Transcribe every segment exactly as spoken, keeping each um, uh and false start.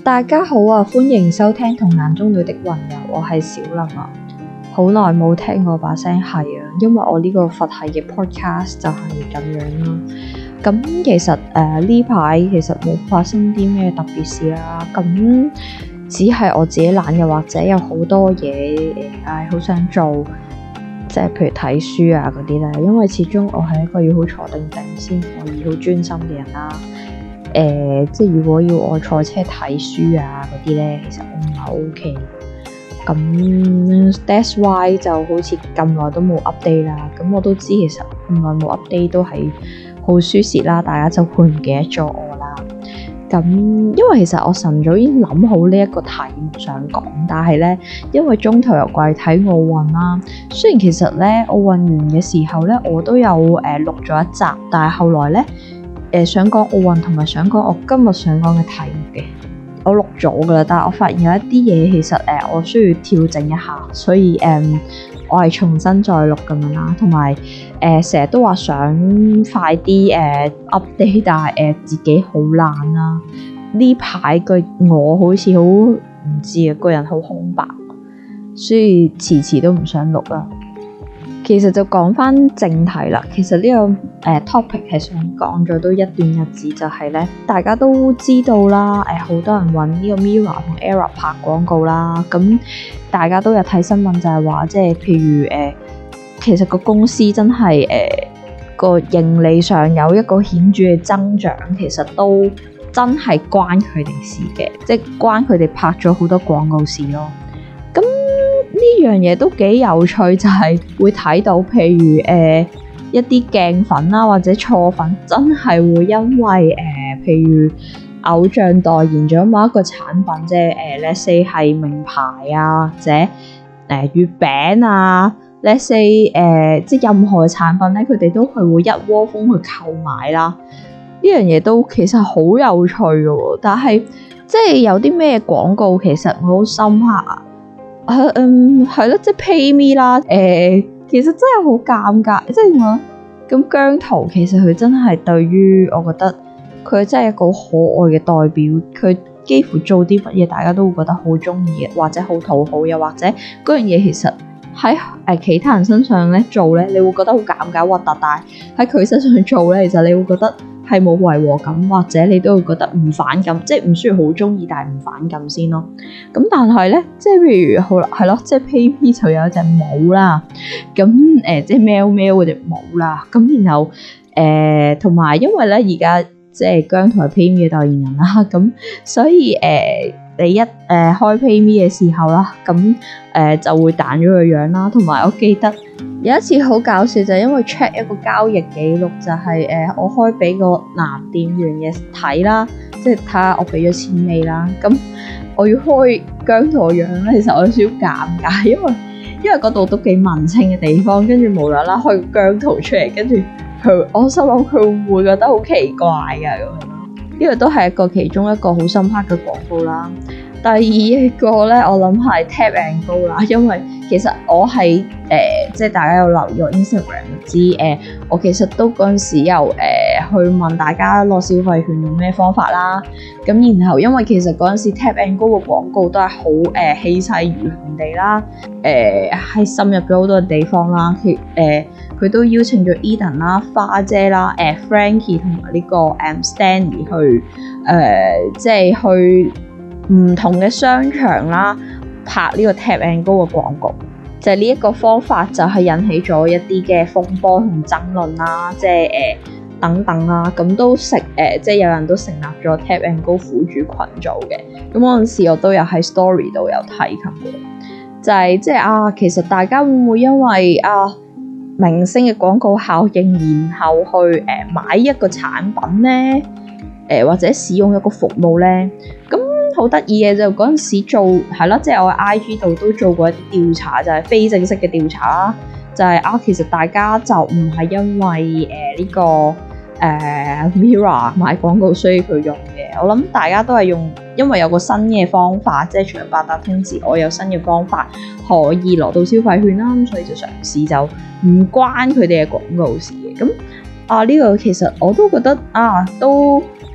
大家好啊，歡迎收聽《童顏中女的雲遊》，我係小林啊。好耐冇聽我把聲係啊，因為我呢個佛系嘅 podcast 就係咁樣啦。咁其實誒呢排其實冇發生啲咩特別事啦，咁只係我自己懶，又或者有好多嘢誒，唉好想做，即係譬如睇書啊嗰啲咧。因為始終我係一個要好坐定定先可以好專心嘅人啦。誒、呃，即係如果要我坐車睇書啊嗰啲咧，其實我唔係 OK。咁 that's why 就好似咁耐都冇 update 啦。咁我都知其實咁耐冇 update 都係好舒適啦，大家就會唔記得咗我啦。咁因為其實我晨早已經諗好呢一個題目想講，但係咧因為中途又過嚟睇奧運啦。雖然其實咧奧運完嘅時候咧，我都有誒、呃、錄咗一集，但係後來咧。誒、呃、想講奧運同埋想講我今日想講嘅題目嘅，我錄咗噶啦，但係我發現有一啲嘢其實誒、呃、我需要調整一下，所以誒、呃、我係重新再錄咁樣啦，同埋誒成日都話想快啲誒、呃、update， 但係誒、呃、自己好懶啦。呢排個我好似好唔知啊，個人好空白，所以遲遲都唔想錄啦。其實就講翻正題啦。其實呢、這個誒、呃、topic 係想講咗都一段日子，就係、是、咧大家都知道啦。誒、呃、好多人揾呢個 Mirror 同 Error 拍廣告啦。咁大家都有睇新聞，就係話即係譬如誒、呃，其實個公司真係誒個盈利上有一個顯著嘅增長，其實都真係關佢哋事嘅，即係關佢哋拍咗好多廣告事咯。咁呢樣嘢都幾有趣，就係、是、會睇到，譬如誒、呃、一啲鏡粉啦，或者錯粉，真係會因為誒、呃，譬如偶像代言咗某一個產品，即係誒 let's say 係名牌啊，或者誒、呃、月餅啊 let's say 誒、呃，即係任何嘅產品咧，佢哋都係會一窩蜂去購買啦。呢樣嘢都其實好有趣嘅喎，但係即係有啲咩廣告其實我好深刻啊。Uh, 嗯，係咯，即係 PayMe 啦。誒、呃，其實真係好尷尬，即係我咁姜濤其實佢真係對於我覺得佢真係一個可愛嘅代表。佢幾乎做啲乜嘢，大家都會覺得好中意嘅，或者好討好，又或者嗰樣嘢其實喺誒、呃、其他人身上咧做咧，你會覺得好尷尬核突，但係喺佢身上做咧，其實你會覺得係冇違和感，或者你都會覺得唔反感，即係唔需要好中意，但係唔反感先咯。咁但係咧，即係譬如好啦，係咯，即係 PayMe 就有一隻帽啦，咁誒、呃、即係喵喵嗰隻帽啦，咁然後誒同埋因為咧而家即係姜濤係 PayMe 嘅代言人啦，咁所以誒、呃、你一誒、呃、開 PayMe 嘅時候啦，咁誒、呃、就會彈咗個樣啦，同埋我記得。有一次好搞笑，就係、是、因為 check 一個交易記錄，就係、是、誒、呃、我開俾個男店員嘅睇啦，即係睇下我俾咗錢未啦。咁我要開姜濤個樣咧，其實我有少少尷尬，因為因為嗰度都幾文青嘅地方，跟住無啦啦開個姜濤出嚟，跟住佢，我心諗佢會唔會覺得好奇怪㗎咁樣咯？呢個都係一個其中一個好深刻嘅廣告啦。第二個咧，我諗係 Tap and Go 啦，因為其實我喺誒、呃，即係大家有留意我 Instagram 知誒、呃，我其實都嗰陣時有誒、呃、去問大家攞消費券用咩方法啦。咁然後因為其實嗰陣時 Tap and Go 嘅廣告都係好誒氣勢如虹地啦，誒係滲入咗好多地方啦。佢誒佢都邀請咗 Eden 啦、花姐啦、誒、呃、Frankie 同埋呢個誒、um, Stanley 去誒、呃，即係去。唔同嘅商場啦，拍呢個 Tap and Go 嘅廣告，就係呢一個方法就係引起咗一啲嘅風波同爭論啦，即係誒、呃、等等啦，咁都成誒、呃，即係有人都成立咗 Tap and Go 苦主群組嘅，咁嗰陣時我都有喺 story 度有提及過，就係、是、即係啊，其實大家會唔會因為啊明星嘅廣告效應，然後去誒、呃、買一個產品咧，誒、呃、或者使用一個服務咧，咁。好得意嘅就嗰陣時做係啦，即係我喺 I G 度都做過一啲調查，就係、是、非正式嘅調查啦。就係、是、啊，其實大家就唔係因為誒呢、呃這個誒、呃、Mirror 買廣告需要佢用嘅。我諗大家都係用，因為有個新嘅方法，即係除咗八達通之外，有新嘅方法可以攞到消費券啦。咁所以就嘗試，就唔關佢哋嘅廣告事嘅。咁啊呢、這個其實我都覺得啊都。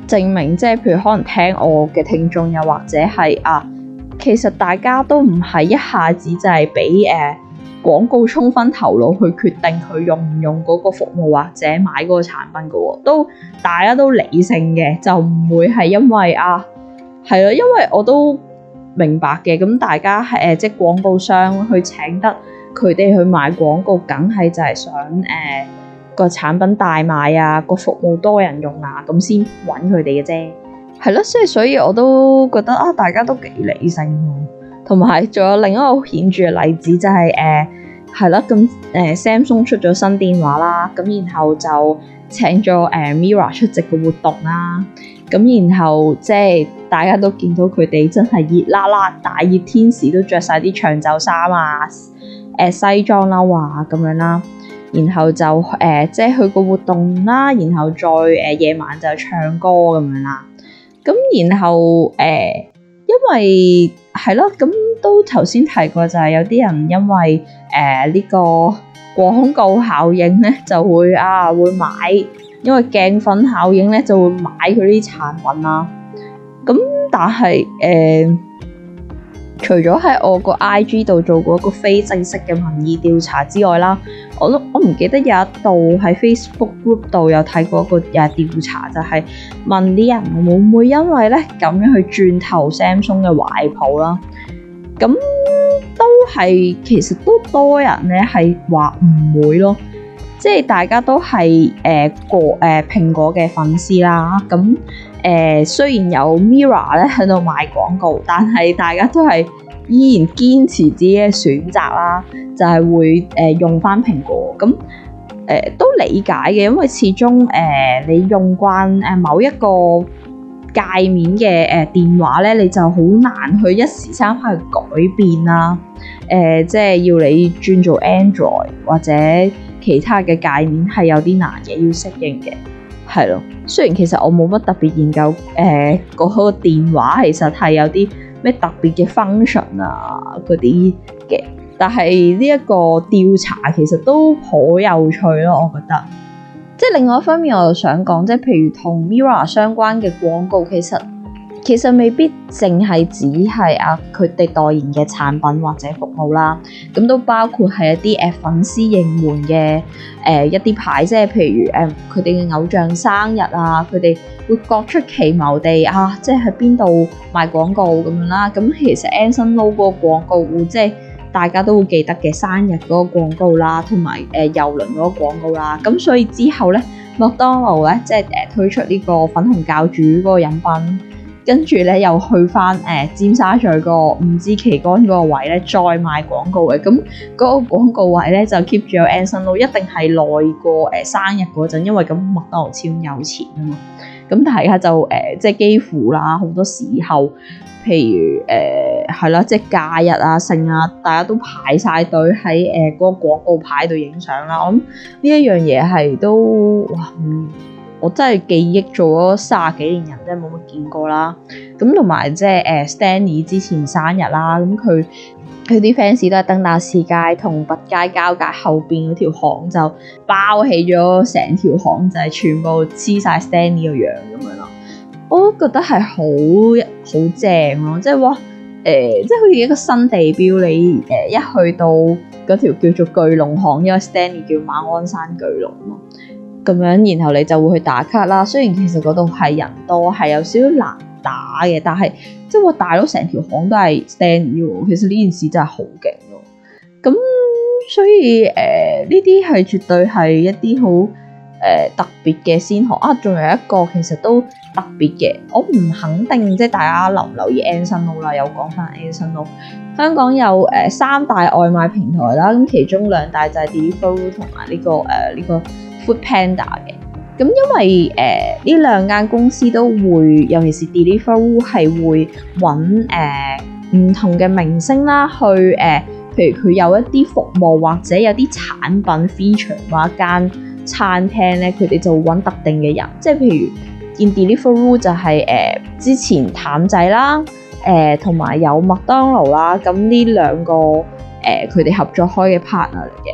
證明即係譬如可能聽我嘅聽眾又或者係啊，其實大家都唔係一下子就係俾誒廣告沖昏頭腦去決定佢用唔用嗰個服務或者買嗰個產品嘅喎，都大家都理性嘅，就唔會係因為啊係咯，因為我都明白嘅，咁大家係誒、呃、即係廣告商去請得佢哋去買廣告，梗係就係想誒、呃、個產品大賣啊，個服務多人用啊，咁先揾佢哋嘅啫，係咯，所以所以我都覺得啊，大家都幾理性喎。同埋仲有另一個顯著嘅例子就係誒係啦，咁、呃、誒、呃、Samsung 出咗新電話啦，咁然後就請咗誒、呃、Mirror 出席嘅活動啦，咁然後即係大家都見到佢哋真係熱辣辣大熱天時都着晒啲長袖衫啊，誒、呃、西裝褸啊咁樣啦，然後就誒、呃、即係去個活動啦，然後再誒、呃、夜晚就唱歌咁樣啦，咁然後誒、呃、因為係咯，咁都頭先提過，就係有啲人因為誒呢、呃這個廣告效應咧，就會啊會買，因為鏡粉效應咧就會買佢啲產品啦。咁但係誒、呃，除咗喺我個 I G 度做過一個非正式嘅民意調查之外啦，我都我唔記得有一度喺 Facebook group 度有睇過一個誒調查，就係、是、問啲人會唔會因為咧咁樣去轉投 Samsung 嘅懷抱啦。咁都係其實都多人咧係話唔會咯，即係大家都係誒個誒蘋果嘅粉絲啦。咁誒、呃、雖然有 Mirror 咧喺度賣廣告，但係大家都係依然堅持自己嘅選擇啦，就係、是、會誒、呃、用翻蘋果。咁誒、呃、都理解嘅，因為始終誒、呃、你用慣誒某一個界面嘅誒、呃、電話咧，你就好難去一時三刻去改變啦。誒、呃，即係要你轉做 Android 或者其他嘅界面係有啲難嘅，要適應嘅。係咯，雖然其實我冇乜特別研究誒嗰、呃嗰個電話其實係有啲咩特別嘅 function 啊嗰啲嘅，但係呢一個調查其實都好有趣咯，我覺得。即係另外一方面，我又想講，即係譬如同 Mirror 相關嘅廣告，其實其實未必淨係只係啊佢哋代言嘅產品或者服務啦，咁都包括係一啲誒、呃、粉絲應援嘅誒、呃、一啲牌，即係譬如誒佢哋嘅偶像生日啊，佢哋會各出奇謀地啊，即係喺邊度賣廣告咁樣啦。咁其實 Anson Lo 嗰個廣告會即係大家都會記得嘅生日嗰個廣告啦，同埋誒郵輪嗰個廣告啦。咁所以之後咧，麥當勞咧即係誒推出呢個粉紅教主嗰個飲品。跟住咧，又去翻誒、呃、尖沙咀個五支旗杆嗰個位咧，再賣廣告嘅。咁嗰個廣告位咧就 keep 住有 Anson Lo，一定係耐過誒、呃、生日嗰陣，因為咁麥當勞超有錢啊嘛。咁大家就誒、呃、即係幾乎啦，好多時候，譬如誒係啦，即係假日啊、盛啊，大家都排晒隊喺誒嗰個廣告牌度影相啦。我諗呢一樣嘢係都哇嗯〜我真係記憶做咗三十幾年人，真係冇乜見過啦。咁同埋即係誒 Stanley 之前生日啦，咁佢佢啲 fans 都係登打士街同拔街交界後邊嗰條巷就包起咗成條巷，就係、是、全部黐晒 Stanley 個樣咁樣咯。我都覺得係好好正咯，即係哇誒，即係好似一個新地標，你誒、呃、一去到嗰條叫做巨龍巷，因為 Stanley 叫馬鞍山巨龍咯。咁樣，然後你就會去打卡啦。雖然其實嗰度係人多，係有少少難打嘅，但係即係話大佬成條巷都係 Stanley 喎。其實呢件事真係好勁咯。咁所以誒，呢啲係絕對係一啲好誒特別嘅先河啊。仲有一個其實都特別嘅，我唔肯定即係大家留唔留意 Anson Lo 啦。有講翻 Anson Lo，香港有誒、呃、三大外賣平台啦。咁其中兩大就係 Deliveroo 同埋呢個誒呢個。呃這個 Foodpanda 嘅，咁因為誒呢兩間公司都會，尤其是 Deliveroo 係會揾誒唔同嘅明星啦，去誒、呃，譬如佢有一啲服務或者有啲產品 feature 或一間餐廳咧，佢哋就會揾特定嘅人，即係譬如見 Deliveroo 就係、是、誒、呃、之前譚仔啦，誒同埋有麥當勞啦，咁呢兩個誒佢哋合作開嘅 partner 嚟嘅。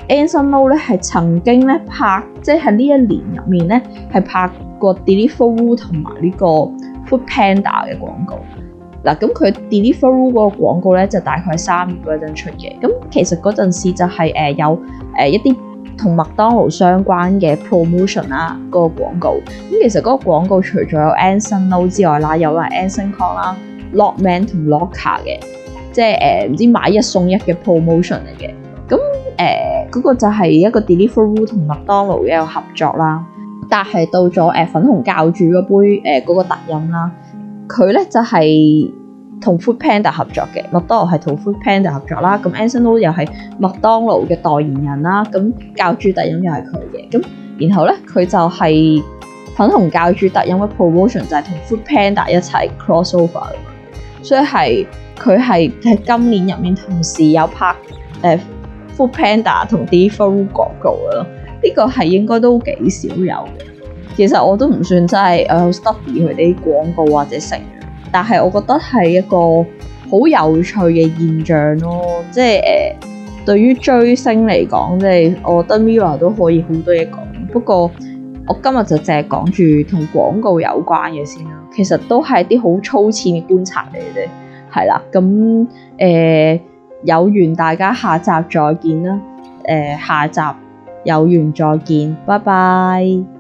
Anson Lo 咧係曾經咧拍，即係喺呢一年入面咧係拍過 Deliveroo 同埋呢個 Food Panda 嘅廣告。嗱，咁佢 Deliveroo 嗰個廣告咧就大概係三月嗰陣出嘅。咁其實嗰陣時就係誒有誒一啲同麥當勞相關嘅 promotion 啦，嗰個廣告。咁其實嗰個廣告除咗有 Anson Lo 之外啦，有埋 Anson Kong 啦、Lockman 同 Locker 嘅，即係誒唔知買一送一嘅 promotion 嚟嘅。咁誒嗰個就係一個 Deliveroo 同麥當勞嘅一個合作啦。但係到咗誒、呃、粉紅教主嗰杯誒嗰、呃嗰個特飲啦，佢咧就係、是、同 Food Panda 合作嘅，麥當勞係同 Food Panda 合作啦。咁 Anson Lo 又係麥當勞嘅代言人啦。咁教主特飲又係佢嘅。咁然後咧佢就係粉紅教主特飲嘅 promotion 就係同 Food Panda 一齊 crossover 嘅，所以係佢係喺今年入面同時有拍誒。呃 Food Panda 同 Deliveroo 廣告咯，呢個係應該都幾少有嘅。其實我都唔算真係誒 study 佢哋啲廣告或者成，但係我覺得係一個好有趣嘅現象咯。即係誒、呃，對於追星嚟講，即係我覺得 Mirror 都可以好多嘢講。不過我今日就淨係講住同廣告有關嘅先啦。其實都係啲好粗淺嘅觀察嚟嘅啫，係啦。咁誒。呃有緣大家下集再見啦，誒、呃、下集有緣再見，拜拜。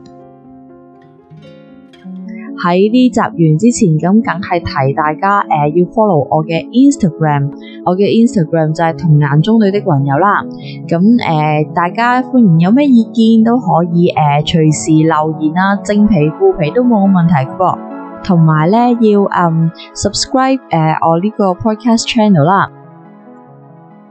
喺呢集完之前，咁梗係提大家誒、呃、要 follow 我嘅 Instagram， 我嘅 Instagram 就係童顏中女的雲友啦。咁誒、呃、大家歡迎有咩意見都可以誒、呃、隨時留言啦，正皮負皮都冇問題嘅噃。同埋咧要嗯 subscribe 誒、呃、我呢個 podcast channel 啦。